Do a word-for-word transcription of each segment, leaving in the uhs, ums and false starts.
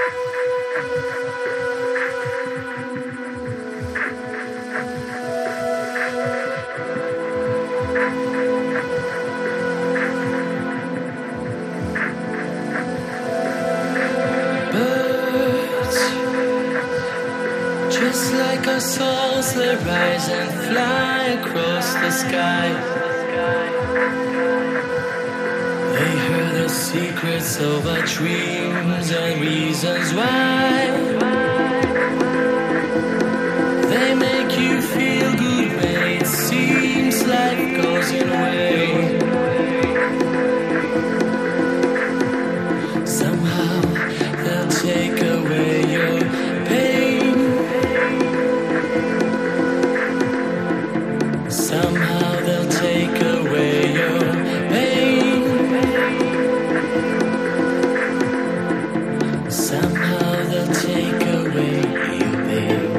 Just like our souls, they rise and fly across the sky. They heard the secrets of our dreams and reasons why. They make you feel good when it seems life goes your way. Somehow they'll take away your pain. Somehow they'll take away your pain. Somehow they'll take away your pain.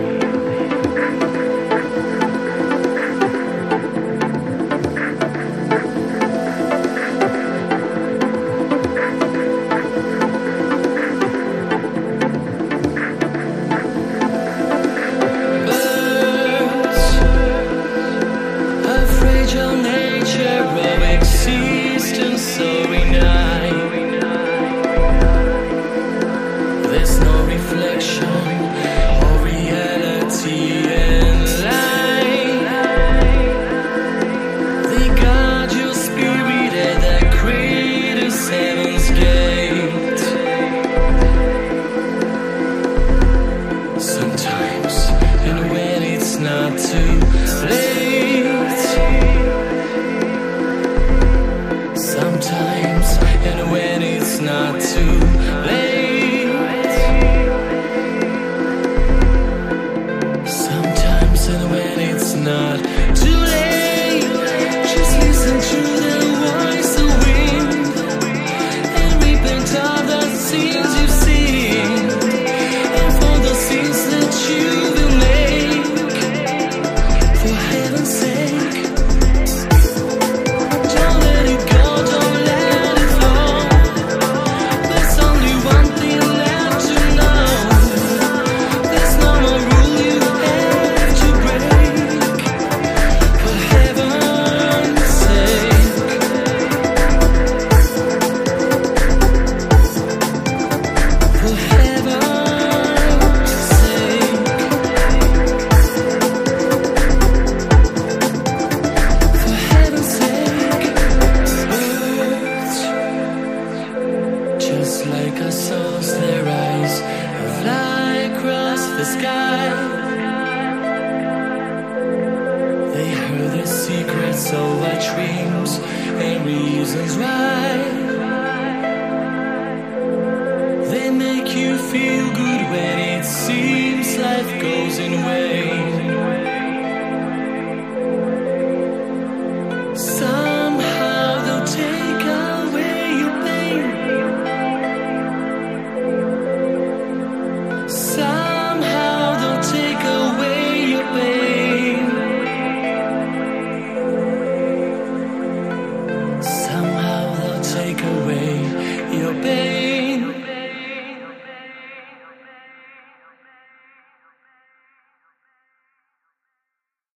So